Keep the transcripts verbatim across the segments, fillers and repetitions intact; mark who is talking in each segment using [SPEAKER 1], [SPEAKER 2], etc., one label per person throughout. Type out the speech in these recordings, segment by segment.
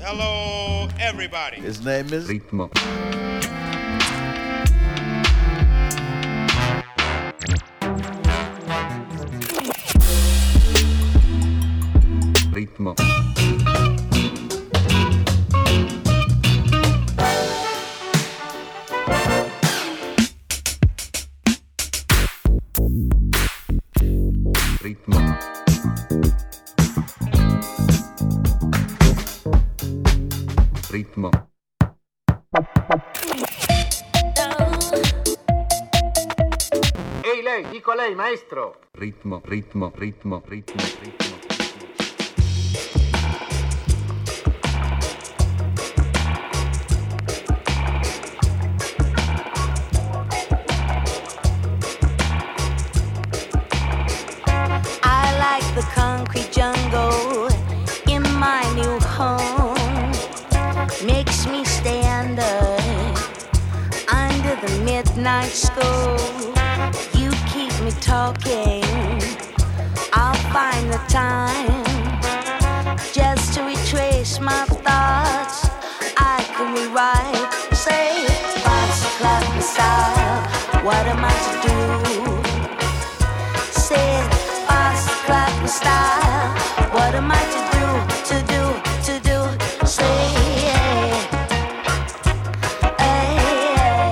[SPEAKER 1] Hello, everybody.
[SPEAKER 2] His name is
[SPEAKER 3] Ritmo. Ritmo. Ritmo. Ritmo.
[SPEAKER 4] Ehi lei, dico a lei, maestro.
[SPEAKER 3] Ritmo, ritmo, ritmo, ritmo, ritmo.
[SPEAKER 5] I like the concrete jungle in my new home. Makes me stay under, under the midnight school. You keep me talking, I'll find the time just to retrace my thoughts. I can rewrite, say, box clap style. What am I to do? Say, box clap style. What am I to do? To do, to do? Say, hey, hey,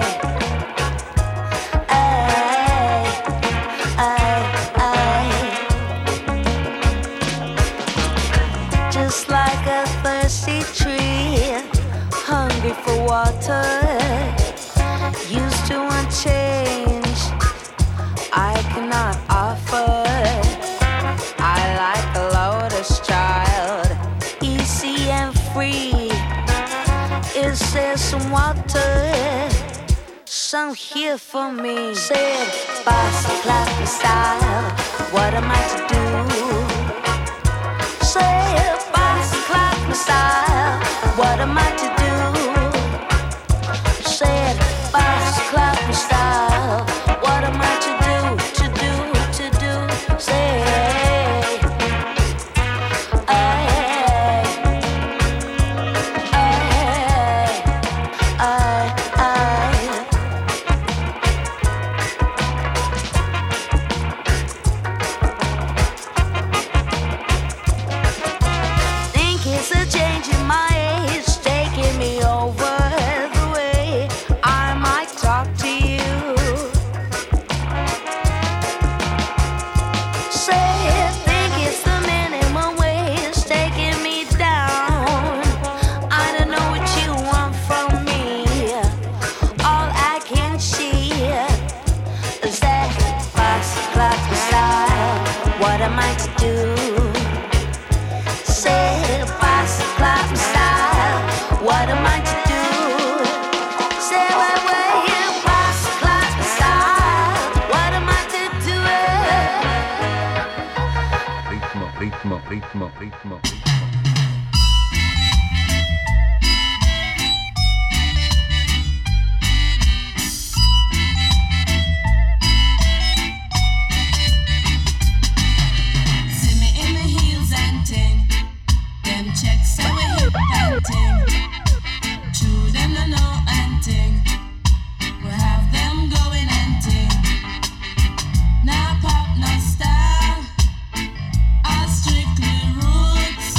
[SPEAKER 5] hey, just like a thirsty tree, hungry for water, used to want change I cannot offer. I like a lotus child, easy and free. Is there some water, some here for me? Said, boss, clap style. What am I to do? Said, boss, clap style. What am I to do? Said, boss, clap style. What am I to do? To do, to do? Say, hey, hey, hey, hey. Think it's a change in my age taking me over the way I might talk to you. Say, think it's the minimum wage taking me down. I don't know what you want from me. All I can see is that box clock style. What am I to do? Say, box clock style. What am I to do? Say, wait, wait, box clock style. What am I to do?
[SPEAKER 3] Ritmo, ritmo, ritmo, ritmo, ritmo.
[SPEAKER 6] See me in my heels and ting. Them checks so we hip and ting. True them no know and ting. We have them going and ting. Now pop no style. All strictly roots.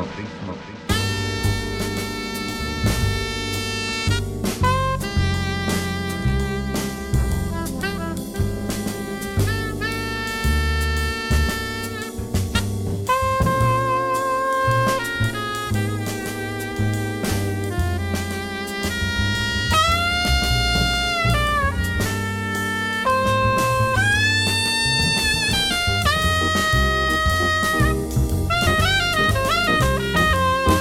[SPEAKER 3] ritmo, ritmo.
[SPEAKER 5] Thank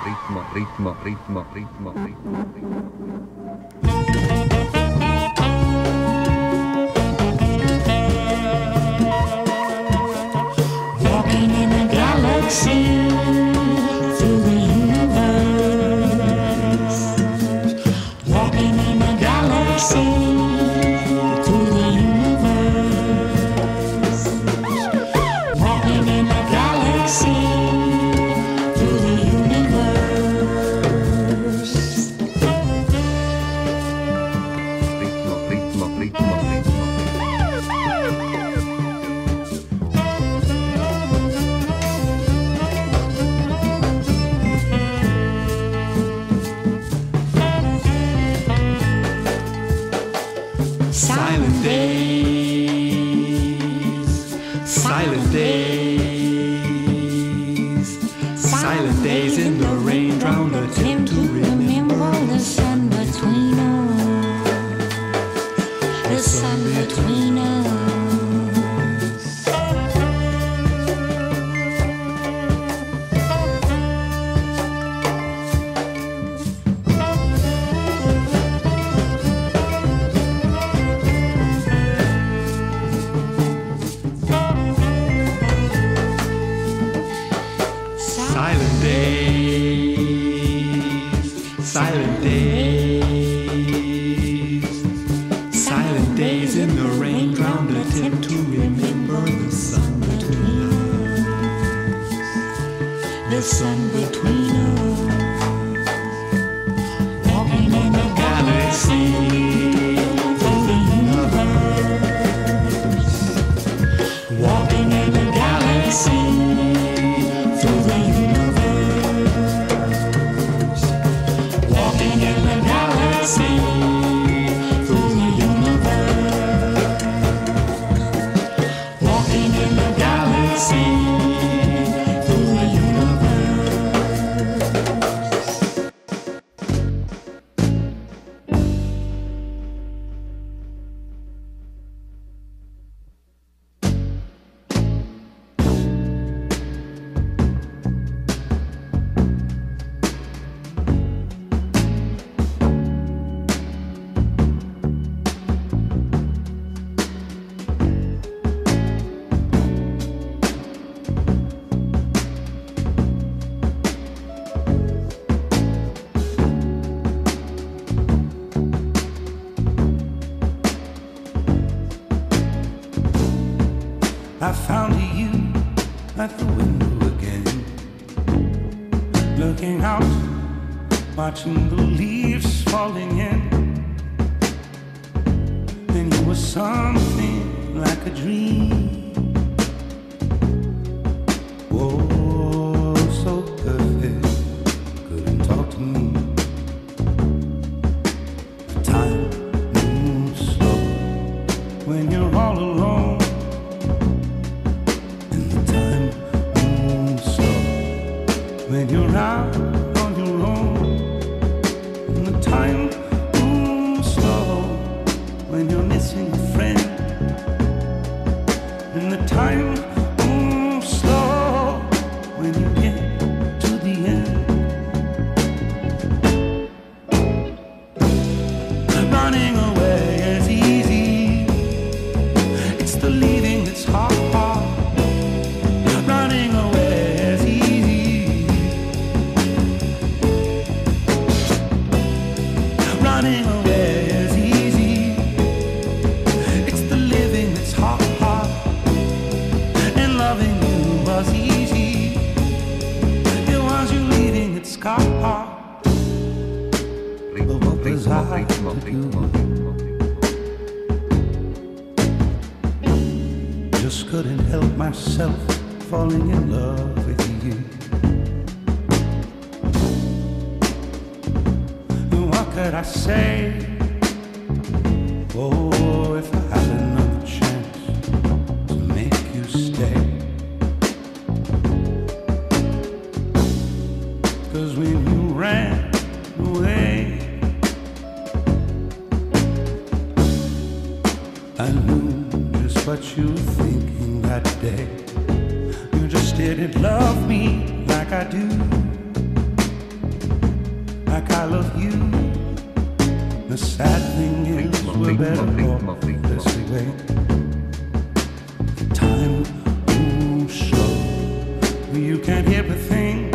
[SPEAKER 3] ritmo, ritmo, ritmo, ritmo, ritmo, ritmo.
[SPEAKER 2] Walking in a galaxy through the universe. Walking in a galaxy through the universe. Walking in a galaxy through the universe.
[SPEAKER 3] Ritmo, ritmo, ritmo, ritmo.
[SPEAKER 2] Silent days, silent days, silent days in the rain drown the attempt to remember the sun between us, the sun between us. Silent days, silent days, silent days in the rain drown the attempt to remember the sun between us, the sun between us. Walking in a galaxy through the universe. Walking in a galaxy through the universe. Walking in a galaxy through the universe. Walking in a galaxy through the universe.
[SPEAKER 7] I found you at the window again, looking out, watching the leaves falling in. And you were something like a dream. Oh, so perfect, couldn't talk to me. Time moves slow when you're all alone. When you're out on your own, and the time moves slow when you're missing a friend, and the time moves slow when you get to the end. Running away is easy, it's the leaving that's hard. Running away is easy. Running away is easy. It's the living that's hard, hard. And loving you was easy. It was you leaving that's hard.
[SPEAKER 3] Ritmo,
[SPEAKER 7] But what was
[SPEAKER 3] ritmo,
[SPEAKER 7] I
[SPEAKER 3] ritmo,
[SPEAKER 7] to
[SPEAKER 3] ritmo,
[SPEAKER 7] do?
[SPEAKER 3] ritmo, ritmo.
[SPEAKER 7] Just couldn't help myself falling in love with you. And what could I say? Oh, if I had another chance to make you stay. 'Cause when you ran away, I knew just what you were thinking that day. You just didn't love me like I do. like I love you. The sad thing is we're better off this way. Time moves slow, you can't hear a thing.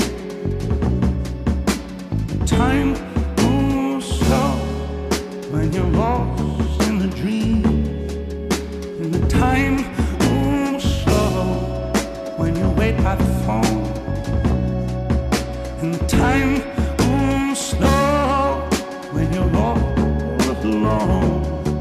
[SPEAKER 7] Time moves slow when you're lost in the dream. And the time moves slow when you wait by the phone. And the time moves slow when you're all alone.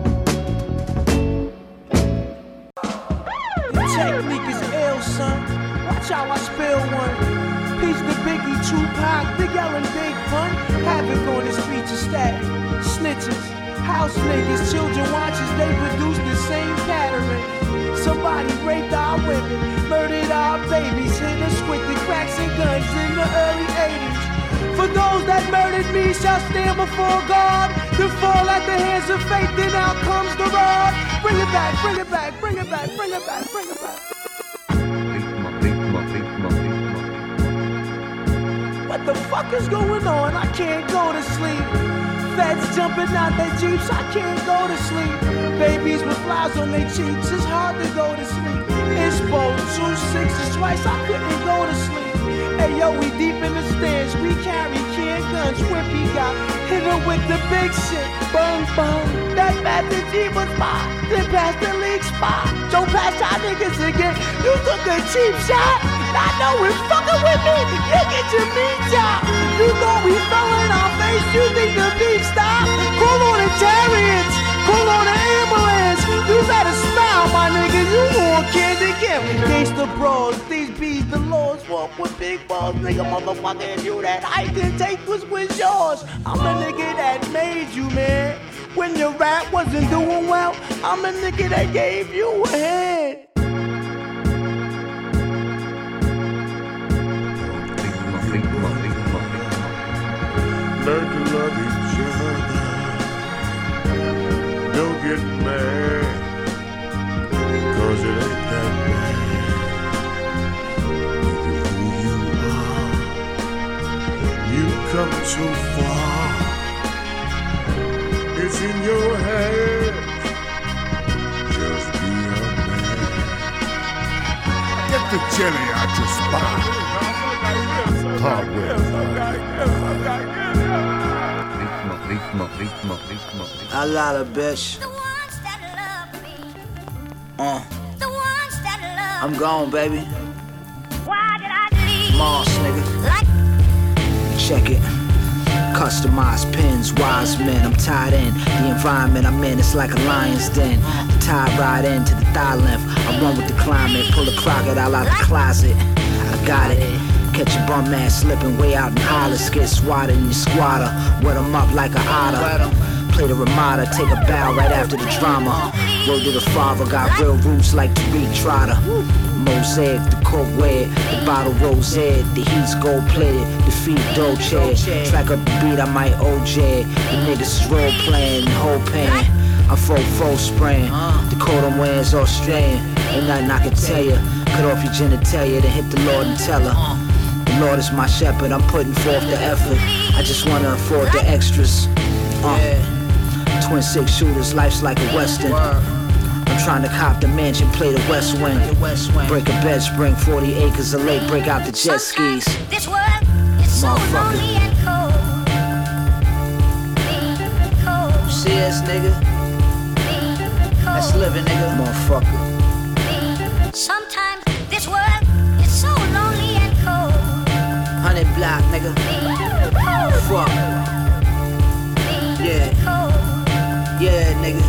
[SPEAKER 8] The technique is ill, son. Watch how I spill one. Peace to Biggie, Tupac, Big L and Big Pun. Havoc on the streets of static. Snitches, house niggas, children watchers, they produce the same pattern. Somebody raped our women, murdered our babies, hit us with the cracks and guns in the early eighties. For those that murdered me shall stand before God, to fall at the hands of fate, then out comes the rod. Bring it back, bring it back, bring it back, bring it back, bring it back. What the fuck is going on? I can't go to sleep. Feds jumping out their jeeps, I can't go to sleep. Babies with flowers on their cheeks, it's hard to go to sleep. It's both two sixes twice, I couldn't go to sleep. Hey yo, we deep in the stands, we carry can guns. Whippy got hit her with the big shit. Bung bung, that Master G was mine. Then past the league spot. Don't pass y'all niggas again. You took a cheap shot. I know it's fucking with me. You get your meat chop. You thought we fell in our face. You think the beef stopped? Call on the chariots. Call on the ambulance. You better smile, my nigga. You want candy camp. Gangsta bros, these bees, the laws walk with big balls. Nigga, motherfucker, you that I didn't take was was yours. I'm a nigga that made you, man. When your rap wasn't doing well, I'm a nigga that gave you a hand.
[SPEAKER 9] Learn to love each other. Don't get mad, cause it ain't that bad. Look at who you are. You've come so far. It's in your head. Just be a man. Get the jelly out your spine. Hardware.
[SPEAKER 8] I love a bitch. Uh. I'm gone, baby.
[SPEAKER 5] Why did I leave?
[SPEAKER 8] Moss, nigga. Check it. Customized pins, wise men, I'm tied in. The environment I'm in, it's like a lion's den. The tie right into the thigh length. I run with the climate, pull a crocodile out the closet. I got it. Catch a bum man slipping way out in Hollis. Get swatted in your squatter. Wet him up like an otter. Play the Ramada, take a bow right after the drama. Word to the father, got real roots like Tariq Trotter. Mosaic, the coke red, the bottle rose ed, the heat's gold plated, the feet Dolce. Track up the beat, I might O J. The niggas is role playing, whole pain. I'm full full spraying. The coat I'm wearing is Australian. Ain't nothing I can tell ya. Cut off your genitalia, then hit the Lord and tell her. The Lord is my shepherd, I'm putting forth the effort. I just wanna afford the extras. Uh, twin six shooters, life's like a western. I'm trying to cop the mansion, play the West Wind. Break a bed spring, forty acres of lake, break out the jet skis.
[SPEAKER 5] This world is so lonely and cold. cold.
[SPEAKER 8] See us, nigga? That's living, nigga. Motherfucker.
[SPEAKER 5] Sometimes this world is so lonely and cold.
[SPEAKER 8] Hundred block, nigga. Fuck. Yeah. Yeah, nigga.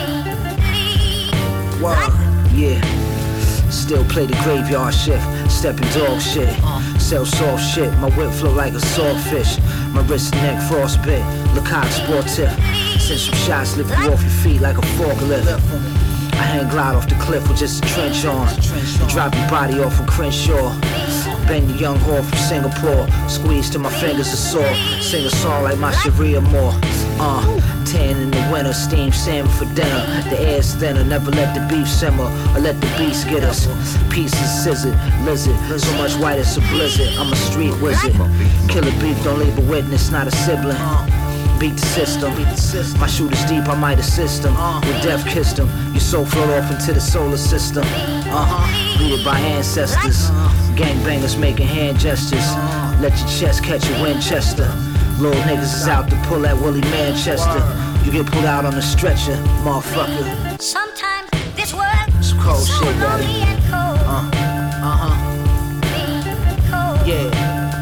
[SPEAKER 8] Wow. Yeah. Still play the graveyard shift. Stepping dog shit. Sell soft shit. My whip flow like a swordfish. My wrist and neck frostbit. Lecoq sportif. Send some shots, lift you off your feet like a forklift. I hang glide off the cliff with just a trench on. Drop your body off from Crenshaw. been the young whore from Singapore. Squeeze till my fingers are sore. Sing a song like my Sharia Moore. Uh, tan in the winter, steam salmon for dinner. The air's thinner, never let the beef simmer or let the beast get us. Pieces scissored, lizard, so much white it's a blizzard. I'm a street wizard. Killer beef, don't leave a witness, not a sibling. Beat the system. My shooter's deep, I might assist him. With death kissed him. Your soul float off into the solar system. Uh-huh. Beat it by ancestors. Gangbangers making hand gestures. Let your chest catch a Winchester. Little niggas is out to pull that Willie Manchester. You get pulled out on the stretcher, motherfucker.
[SPEAKER 5] Sometimes this world
[SPEAKER 8] It's cold
[SPEAKER 5] so
[SPEAKER 8] shit,
[SPEAKER 5] lonely
[SPEAKER 8] daddy.
[SPEAKER 5] and cold.
[SPEAKER 8] Uh, uh-huh.
[SPEAKER 5] Cold.
[SPEAKER 8] Yeah.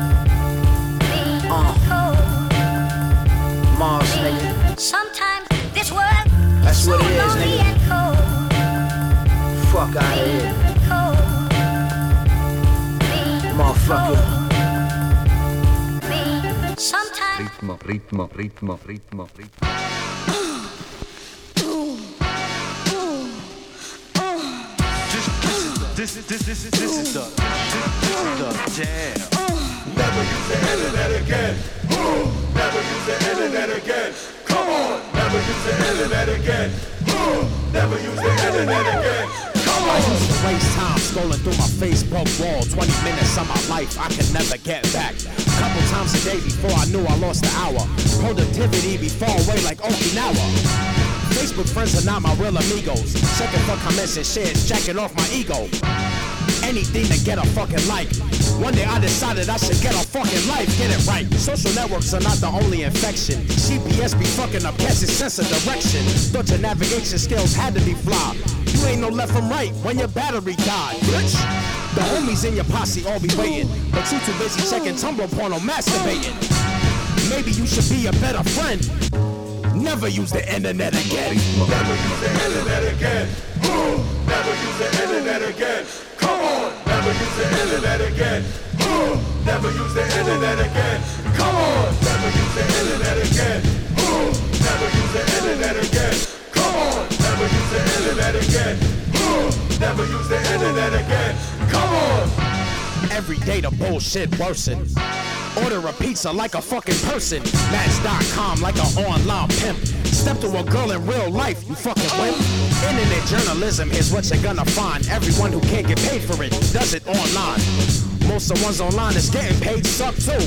[SPEAKER 8] Uh.
[SPEAKER 5] Cold.
[SPEAKER 8] Mars, nigga.
[SPEAKER 5] Sometimes this world
[SPEAKER 8] That's
[SPEAKER 5] so
[SPEAKER 8] what it is,
[SPEAKER 5] lonely
[SPEAKER 8] nigga.
[SPEAKER 5] and cold.
[SPEAKER 8] Fuck out of here.
[SPEAKER 5] Cold.
[SPEAKER 8] Motherfucker.
[SPEAKER 5] Sometimes
[SPEAKER 3] Ritmo, ritmo, ritmo, ritmo, ritmo.
[SPEAKER 10] This is this this is this is the this is the jam.
[SPEAKER 9] Never use the internet again. Ooh, never use the internet again. Come on, never use the internet again. Ooh, never use the internet again. Come
[SPEAKER 11] I
[SPEAKER 9] on.
[SPEAKER 11] used to waste time scrolling through my Facebook wall. twenty minutes of my life I can never get back. Couple times a day before I knew I lost an hour. Productivity be far away like Okinawa. Facebook friends are not my real amigos. Checking for comments and shares, jacking off my ego. Anything to get a fucking like. One day I decided I should get a fucking life, get it right. Social networks are not the only infection. G P S be fucking up past its sense of direction. Thought your navigation skills had to be flawed. You ain't no left from right when your battery died, bitch. The homies in your posse all be waiting, but you too busy checking Tumblr porno masturbating. Maybe you should be a better friend. Never use the internet again.
[SPEAKER 9] Never use the internet again. Ooh, never use the internet again. Come on, never use the internet again. Ooh, never use the internet again. Come on, never use the internet again. Ooh, never use the internet again. Come on, never use the internet again. Ooh, never use the internet again. Come on.
[SPEAKER 11] Every day the bullshit worsen. Order a pizza like a fucking person. Match dot com like an online pimp. Step to a girl in real life, you fucking wimp. Internet journalism, here's what you're gonna find. Everyone who can't get paid for it does it online. Most of the ones online that's getting paid suck too.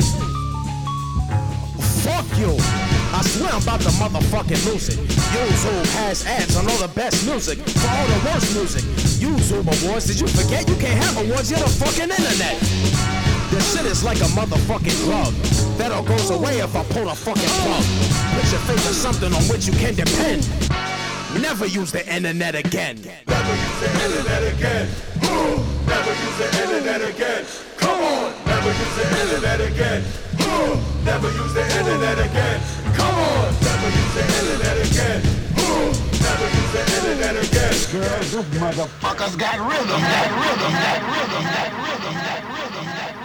[SPEAKER 11] Fuck you. I swear I'm about to motherfucking lose it. YouTube has ads on all the best music for all the worst music. YouTube awards, did you forget you can't have awards? You're the fucking internet. This shit is like a motherfucking drug that all goes away if I pull the fucking plug. Put your faith in something on which you can depend. Never use the internet again.
[SPEAKER 9] Never use the internet again. Ooh, never use the internet again. Come on, never use the internet again. Ooh, never use the internet again. Come on, never use the internet again. Ooh, never use the internet again.
[SPEAKER 4] Girls, you motherfuckers got rhythm, got rhythm, got rhythm, got rhythm, got rhythm, got rhythm.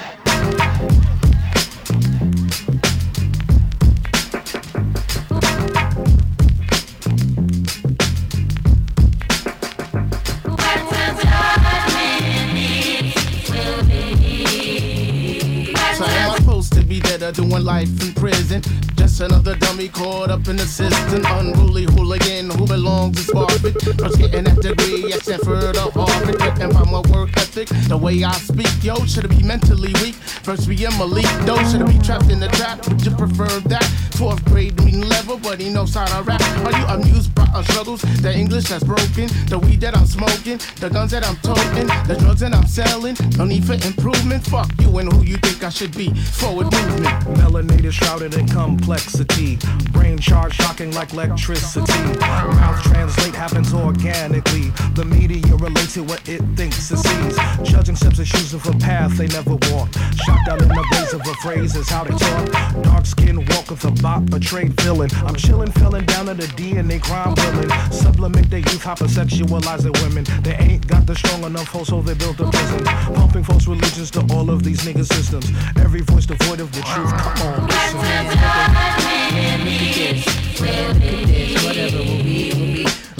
[SPEAKER 12] So am I supposed to be dead or doing life in prison? Just another dummy caught up in the system. Unruly hooligan who belongs to Sparford. First getting that degree at Stanford or Harvard. Written by my work ethic, the way I speak. Yo, should it be mentally weak? First we am elite, though. Should it be trapped in the trap? Would you prefer that? Fourth grade mean level, but he knows how to rap. Are you amused by our struggles? The English that's broken, the weed that I'm smoking, the guns that I'm toting, the drugs that I'm selling. No need for improvement. Fuck you and who you think I should be. Forward movement.
[SPEAKER 13] Melanated, shrouded in complexity. Brain charge shocking like electricity. Mouth translate happens organically. The media relates to what it thinks it sees. Judging steps and choosing for path they never walk. Shot down in the blaze of a phrase is how they talk. Dark skin walk with a bot, betrayed villain. I'm chilling, felling down to the D N A crime villain. Sublimate their youth, hypersexualize their women. They ain't got the strong enough hold, so they built a prison. Pumping false religions to all of these nigga systems. Every voice devoid of the truth. Come on, listen.
[SPEAKER 14] Man, look at this. Man, look at this. Whatever will be, will be.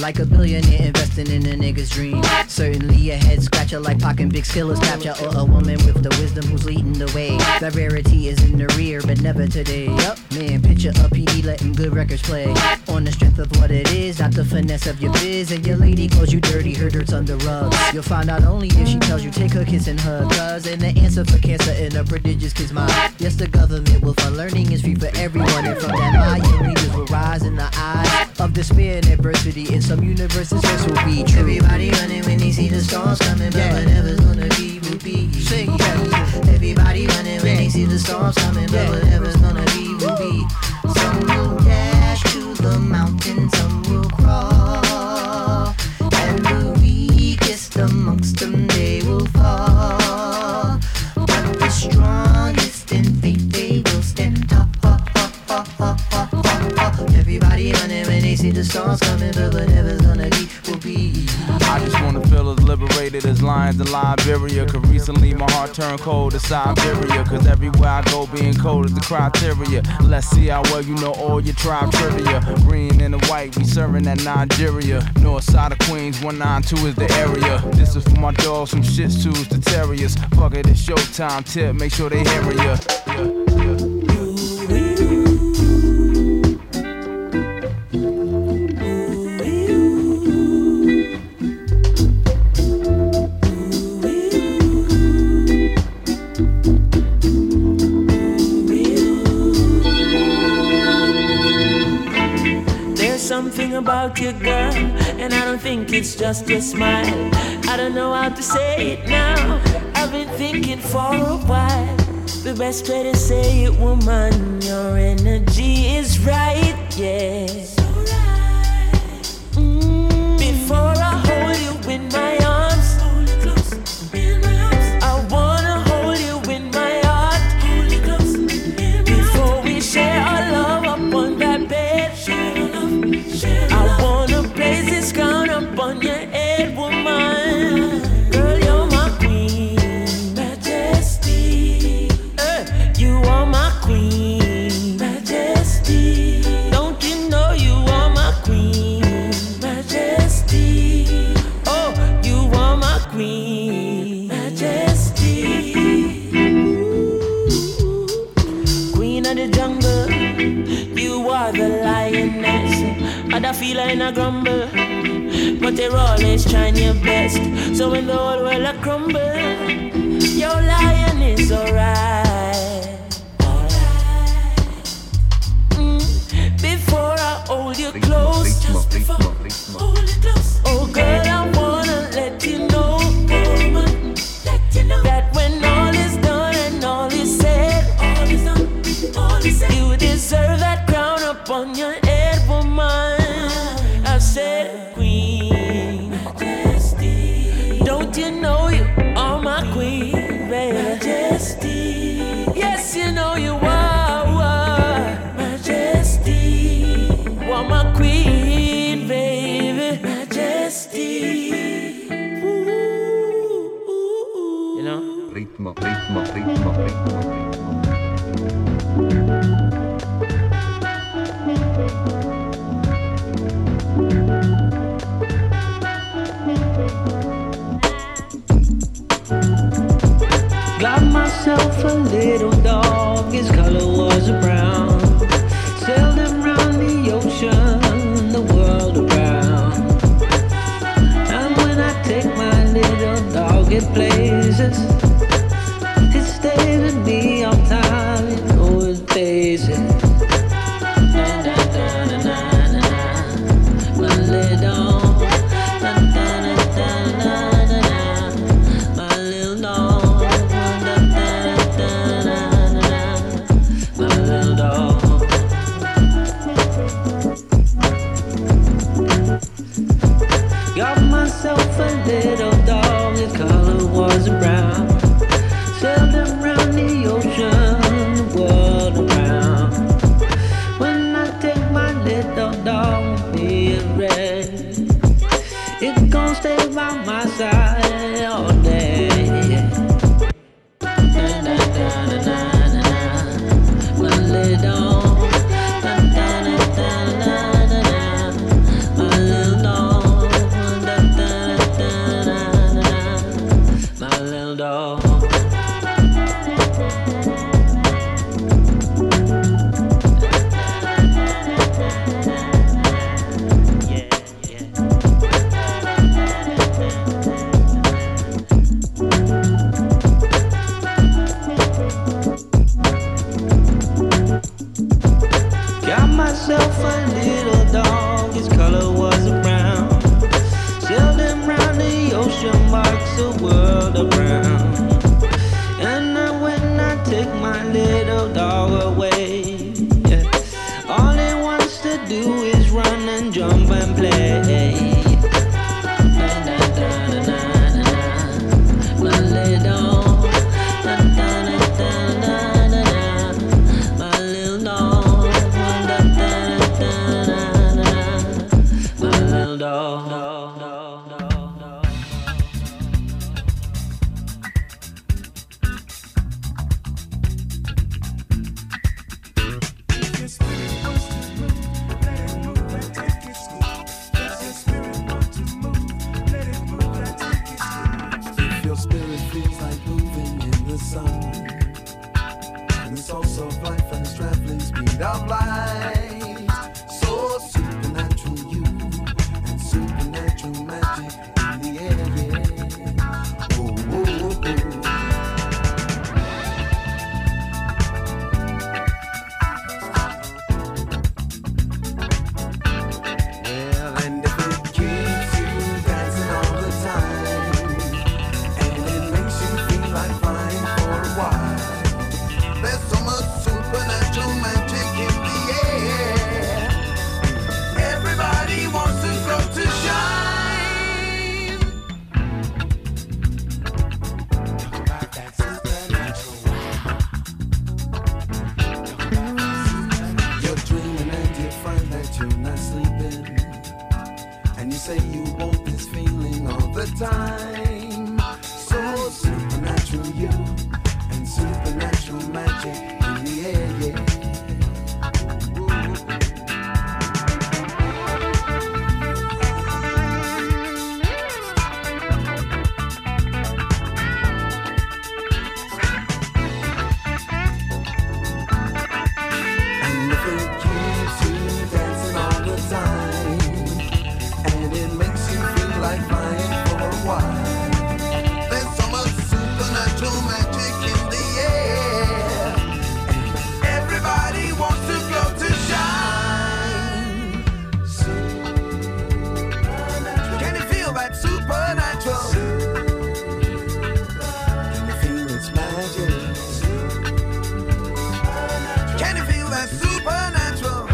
[SPEAKER 14] Like a billionaire investing in a nigga's dream. Certainly a head scratcher like Pac and Big Skiller's capture. Or a woman with the wisdom who's leading the way. That rarity is in the rear, but never today. Yup, man, picture a P D letting good records play. On the strength of what it is, not the finesse of your biz. And your lady calls you dirty, her dirt's under rugs. You'll find out only if she tells you take her kiss and hug. Cause and the answer for cancer in a prodigious kid's mind. Yes, the government will fund learning is free for everyone. And from that eye, your leaders will rise in the eyes of despair and adversity. In some universes, this will be true. Everybody running when they see the storms coming, but yeah. Whatever's gonna be will be. Sing, yeah. Everybody running when they see the storms coming, but whatever's gonna be will be. Some will dash to the mountain, some will crawl, and the weakest amongst them they will fall. But the strongest in faith they will stand tall. Everybody running when they see the storms coming, but whatever's gonna be will be.
[SPEAKER 11] I just wanna feel as liberated as lions in Liberia. Cause recently my heart turned cold to Siberia. Cause everywhere I go being cold is the criteria. Let's see how well you know all your tribe trivia. Green and the white, we serving at Nigeria. North side of Queens, one nine two is the area. This is for my dogs from Shih Tzus to Terriers. Fuck it, it's showtime, tip, make sure they hear ya. Yeah, yeah.
[SPEAKER 15] Something about you, girl, and I don't think it's just your smile. I don't know how to say it now. I've been thinking for a while. The best way to say it, woman, your energy is right, yeah. So right. Mm, before I hold you in my arms, hold it close in my arms. I wanna hold you in my heart, hold it close in my before we share our love up on that bed. Share our love. I wanna place this crown up on your head, woman. Girl, you're my queen, majesty. Uh, you are my queen, majesty. Don't you know you are my queen, majesty? Oh, you are my queen, majesty. Queen of the jungle, you are the lioness. Other feel like a grumble, but they're always trying your best. So when the whole world a crumble, your lion is alright. Alright. Mm. Before I hold you close, just before hold you close. Oh girl, I wanna let you know, woman, let you know that when all is done and all is said, all is done, all is said, you deserve that crown upon your head, woman. I said queen, majesty. Don't you know you are my queen, baby? Majesty. Yes, you know you are, are. Majesty. You are my queen, baby. Majesty. Ooh, ooh, ooh. You know?
[SPEAKER 3] Ritmo, ritmo, ritmo, ritmo, ritmo.
[SPEAKER 15] Got myself a little dog, his color was brown. Sailed him round the ocean, the world around. And when I take my little dog, it places. It stays with me myself a little dog, his color was brown. Sailed him round the ocean, marks the world around. And now when I take my little dog away, yeah, all he wants to do is run and jump and play. My little dog.
[SPEAKER 7] Of light, so supernatural you and supernatural magic in the air, yeah. Oh, oh, oh, oh. Well, and if it keeps you dancing all the time, and it makes you feel like flying for a while, there's so much supernatural magic. Say you want this feeling all the time. So supernatural you and supernatural magic in the air, yeah. And if it keeps you dancing all the time, like flying for a while, there's so much supernatural magic in the air, and everybody wants to go to shine. Supernatural. Can you feel that supernatural? Can you feel its magic? Can you feel that supernatural?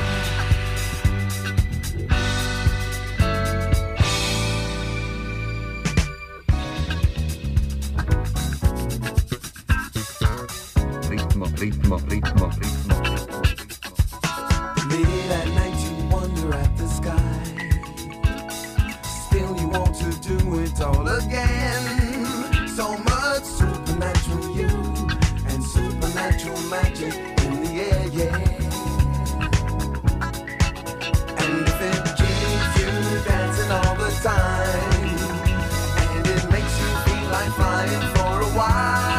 [SPEAKER 3] Ritmo, ritmo, ritmo.
[SPEAKER 7] Late at night you wonder at the sky, still you want to do it all again. So much supernatural you and supernatural magic in the air, yeah. And if it keeps you dancing all the time, and it makes you feel like flying for a while,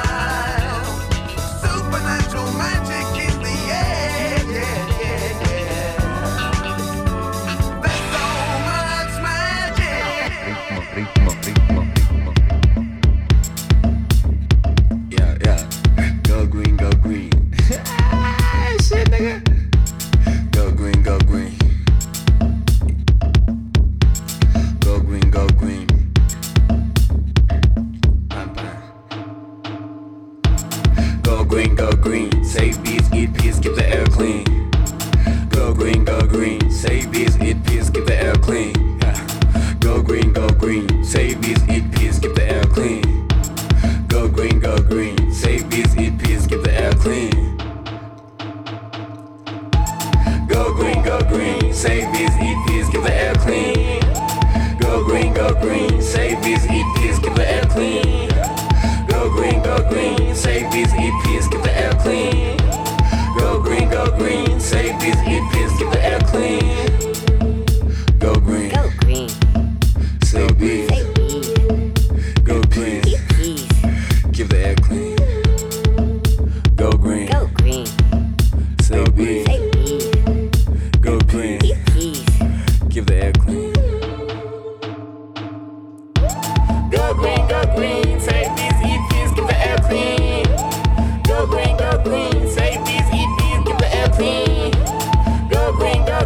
[SPEAKER 7] magic in the air, yeah, yeah, yeah. There's so much magic.
[SPEAKER 3] Ritmo, ritmo, ritmo, ritmo.
[SPEAKER 16] Yeah, yeah. Go green, go green. Shit, nigga. Go green, go green. Go green, go green. Go green, go green. Save bees, eat peas, keep the air clean. Go green, go green. Save bees, eat peas, keep the air clean. Yeah. Go green, go green. Save bees, eat peas, keep the air clean. Go green, go green. Save bees, eat peas, keep the air clean. Go green, go green. Save bees, eat peas, keep the air clean. Go green, go green. Save bees, eat peas, keep the air clean. Go green, go green, save bees, eat peas, keep the air clean. Go green, go green, save bees, eat peas, keep the air clean. Go green,
[SPEAKER 5] go green,
[SPEAKER 16] save bees, go green, keep the air clean. Go green,
[SPEAKER 5] go green,
[SPEAKER 16] save bees, go green, keep the air clean. Go green, go green, save bees, eat peas, keep the air clean. Go green, go green, save bees, eat peas, keep the air clean. Go green, go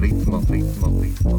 [SPEAKER 3] ritmo, ritmo, ritmo,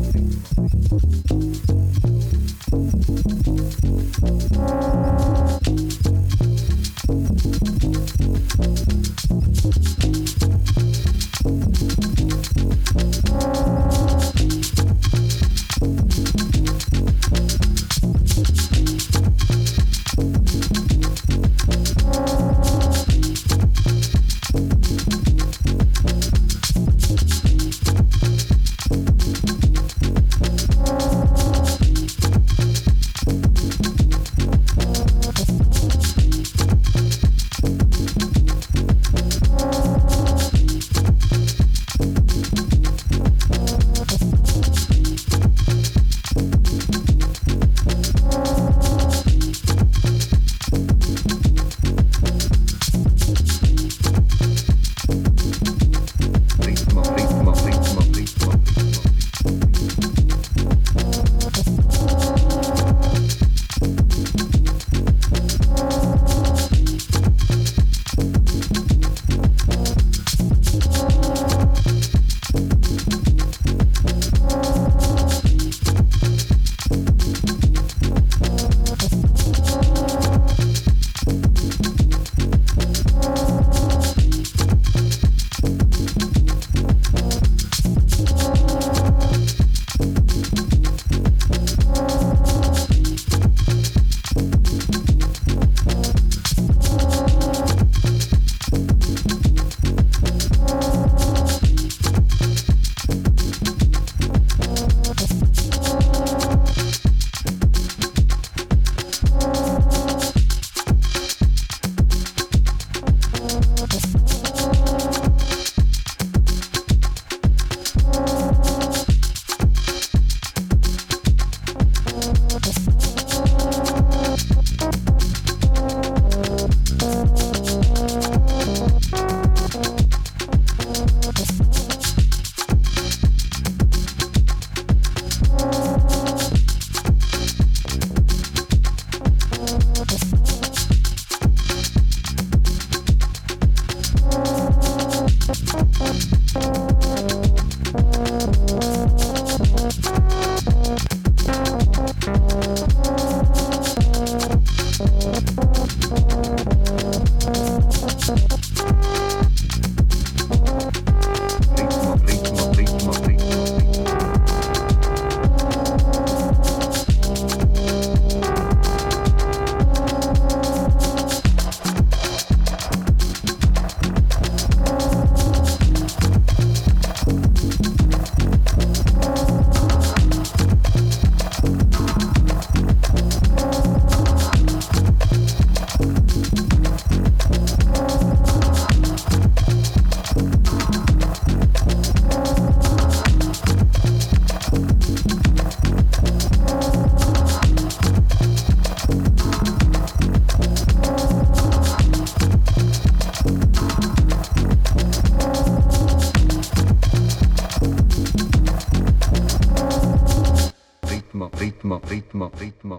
[SPEAKER 3] ritmo, ritmo, ritmo,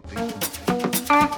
[SPEAKER 3] ritmo.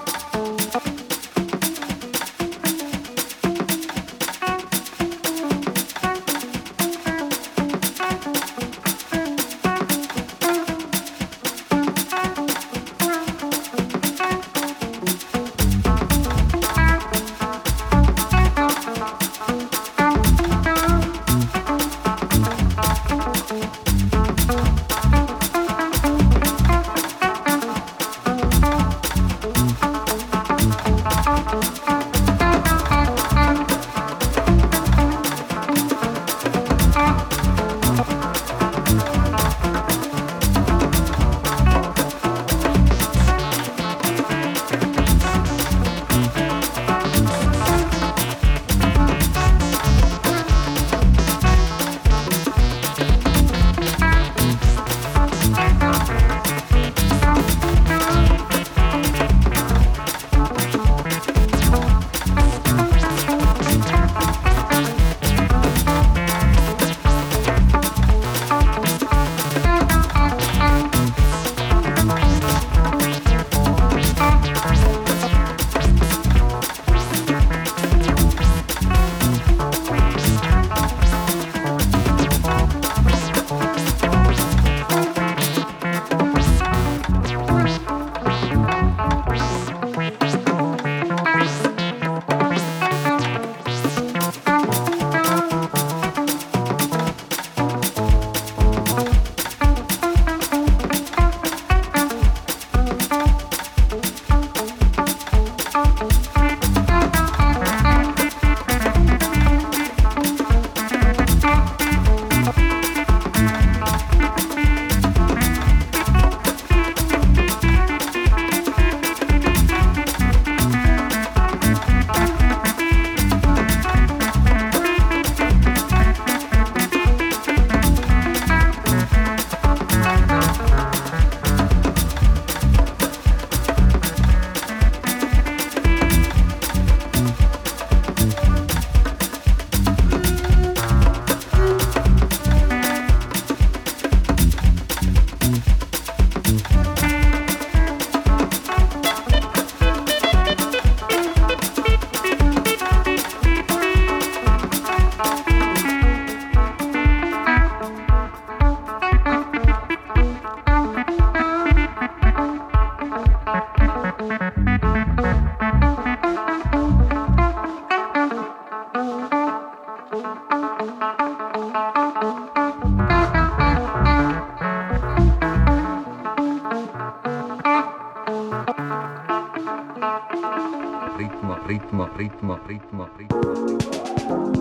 [SPEAKER 3] ritmo, ritmo, ritmo, ritmo.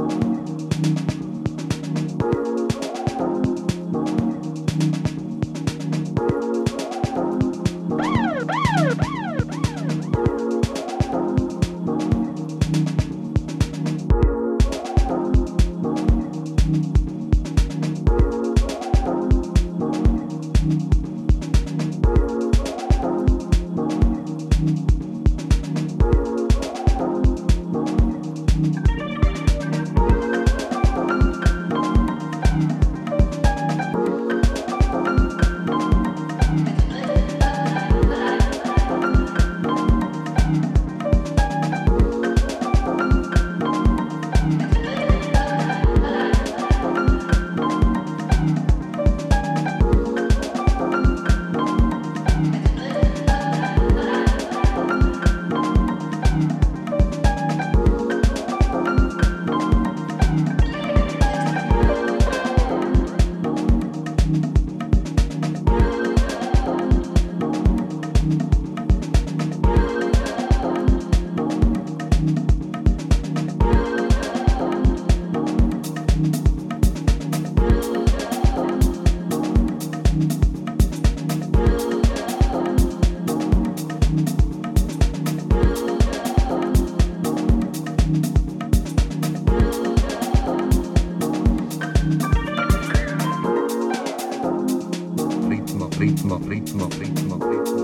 [SPEAKER 3] ritmo, ritmo, ritmo, ritmo.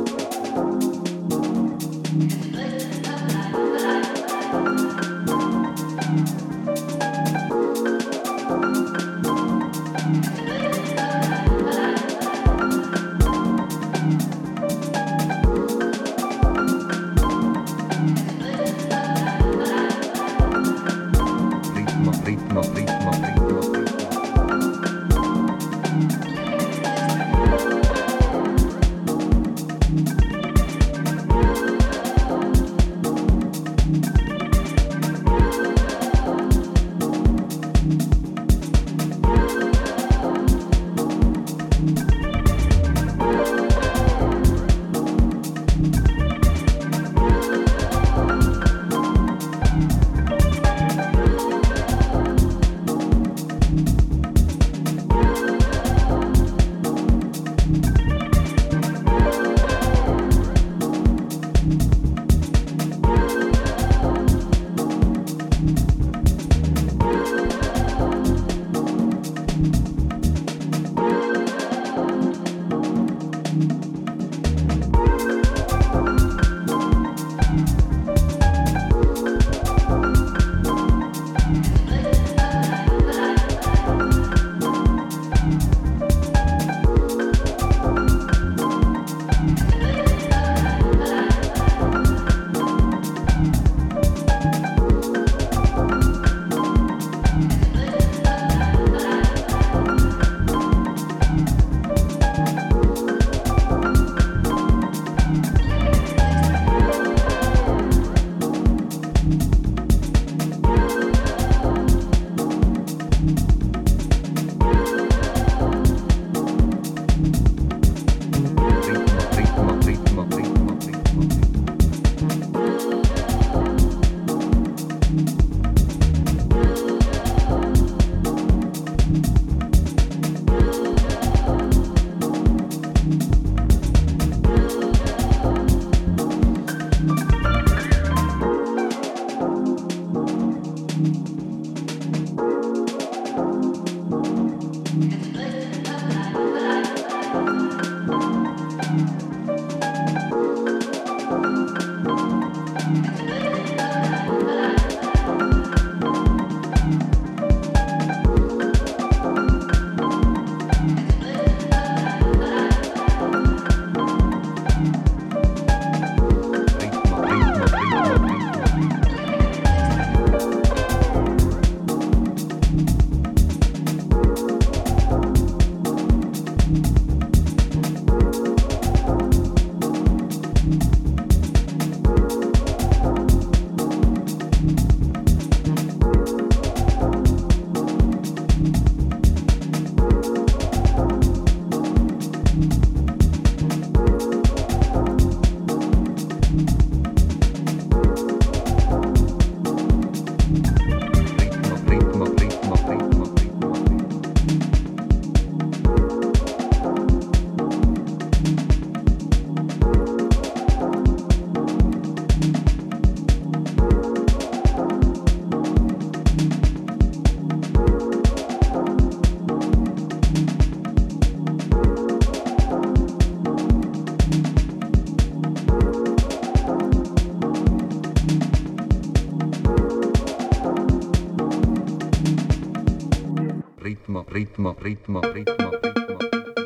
[SPEAKER 3] Ritmo, ritmo, ritmo, ritmo. ritmo, ritmo, ritmo, ritmo, ritmo.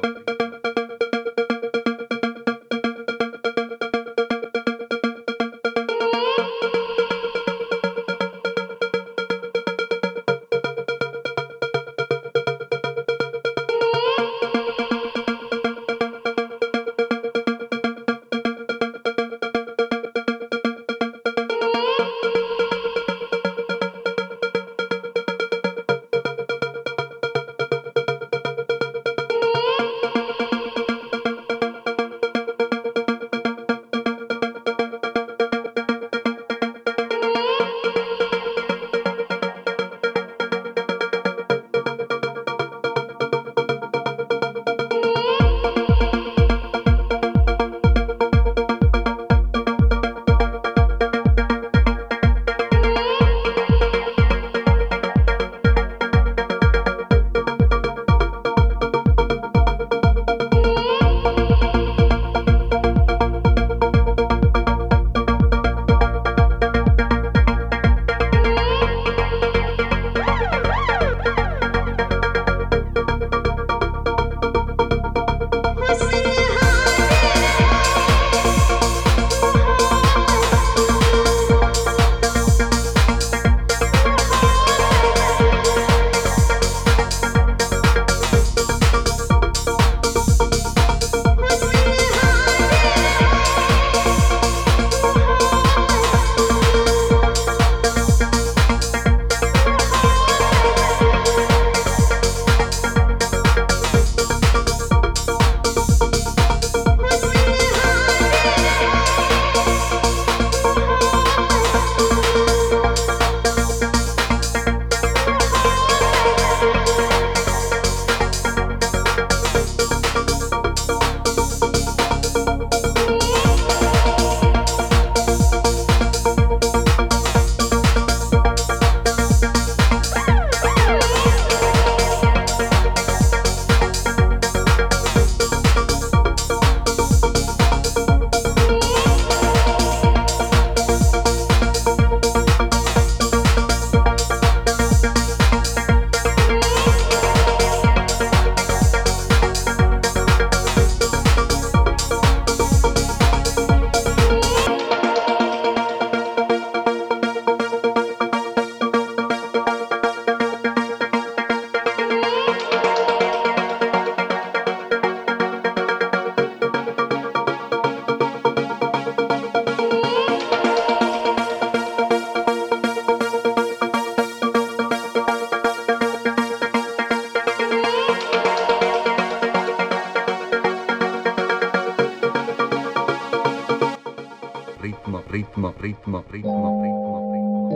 [SPEAKER 3] ritmo, ritmo, ritmo, ritmo, ritmo,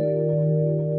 [SPEAKER 3] ritmo.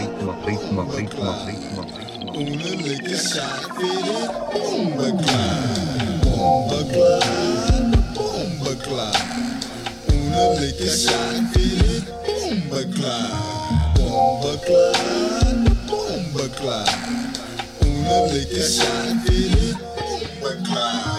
[SPEAKER 3] ritmo, ritmo, ritmo, ritmo.
[SPEAKER 17] Una liquor shot fitted, bomba cloud, bomba cloud, bomba cloud. Una liquor shot fitted, bomba cloud, bomba cloud, bomba cloud. Una liquor shot fitted, bomba cloud.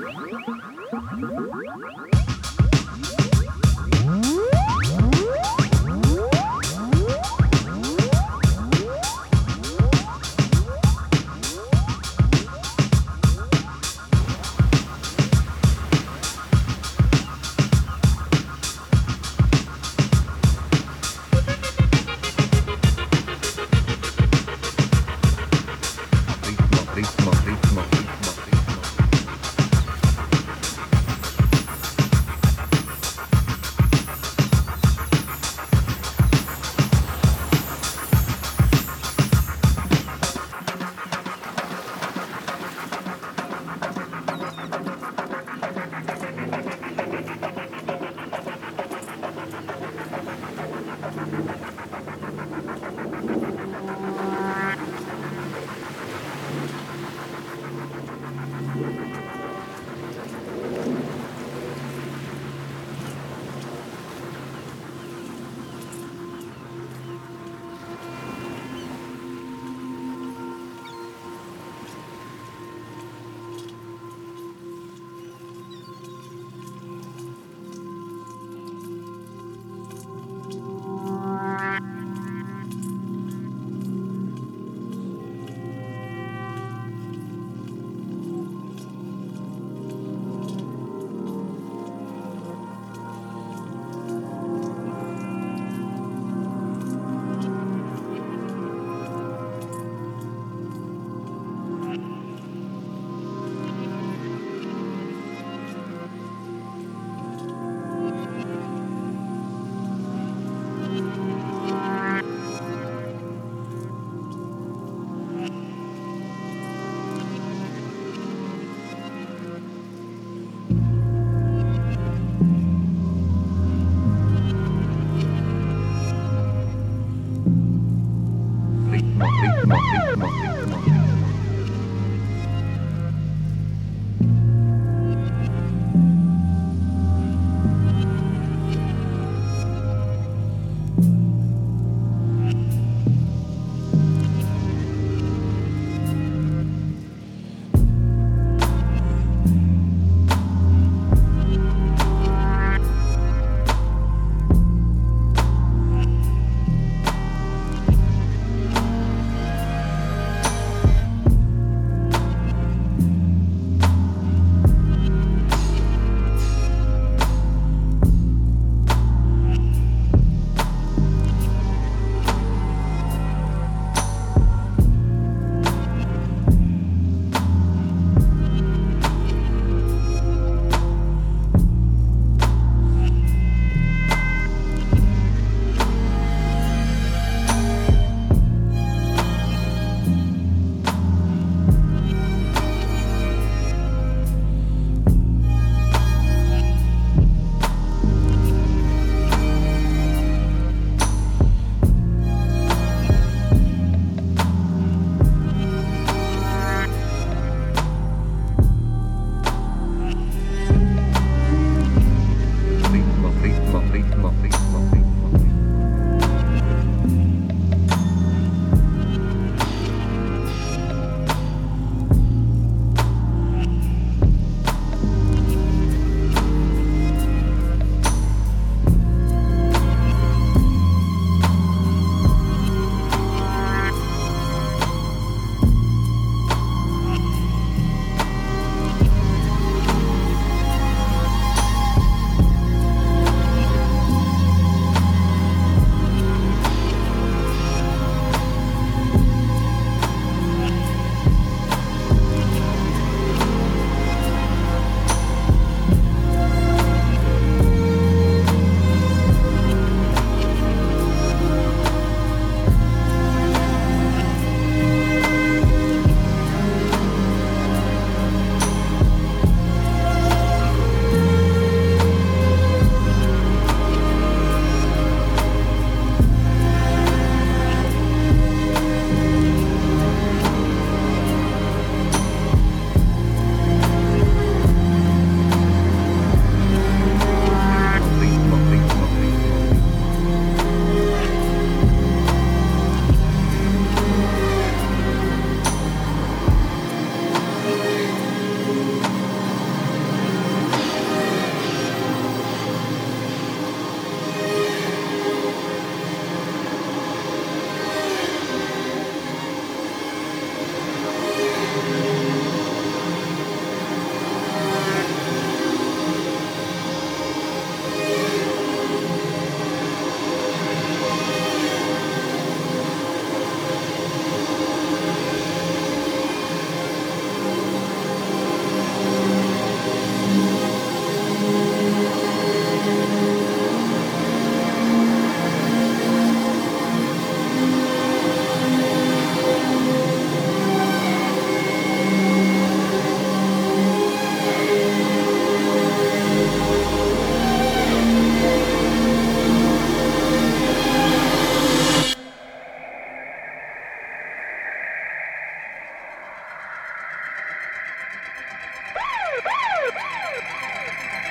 [SPEAKER 3] ritmo, ritmo, ritmo, ritmo.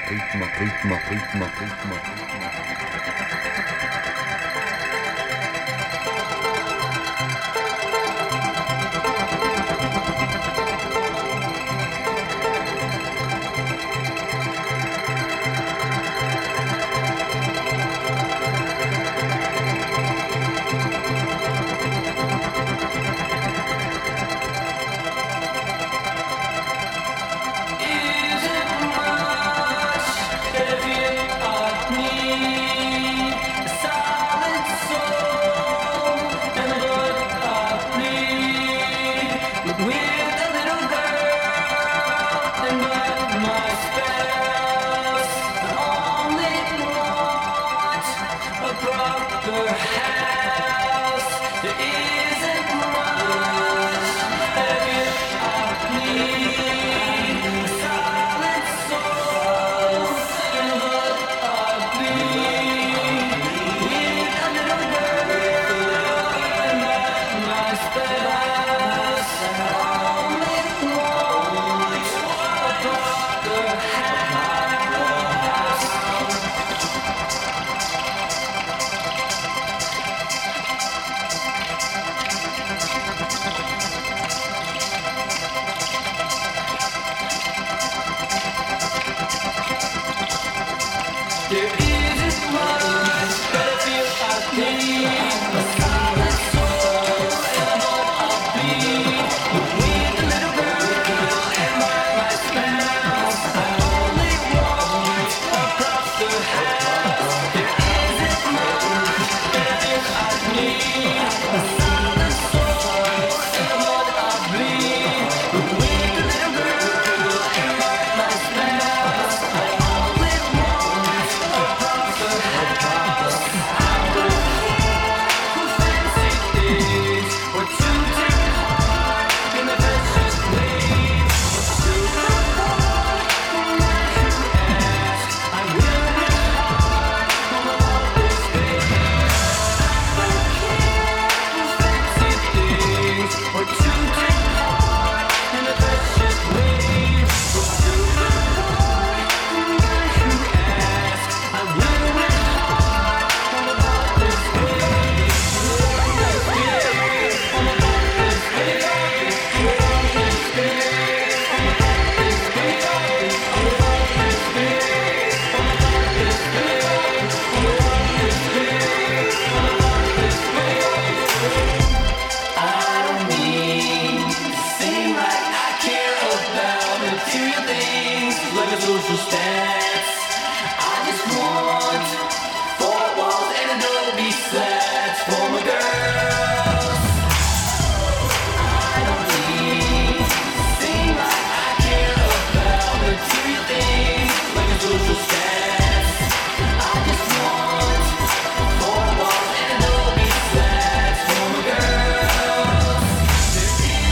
[SPEAKER 3] ritmo, ritmo, ritmo, ritmo, ritmo.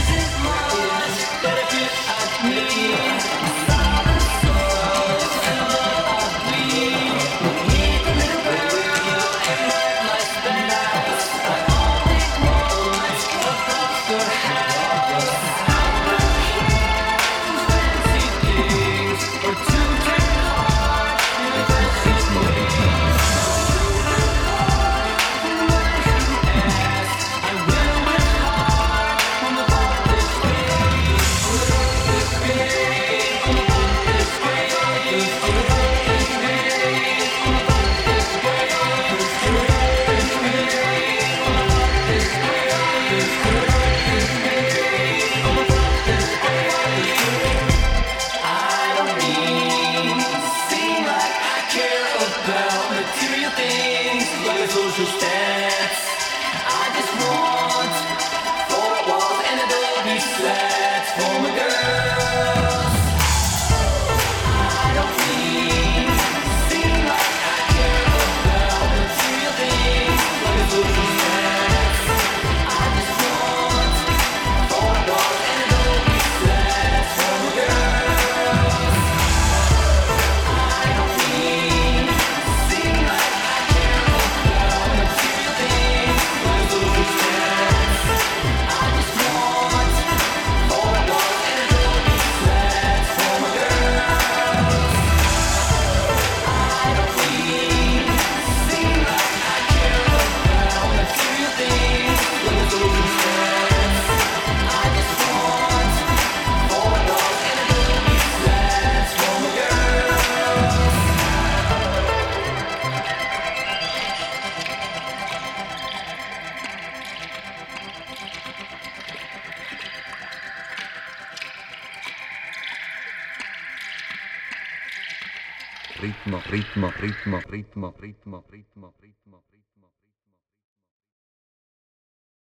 [SPEAKER 6] Me, silent soul.
[SPEAKER 3] ritmo, ritmo, ritmo, ritmo, ritmo, ritmo, ritmo, ritmo.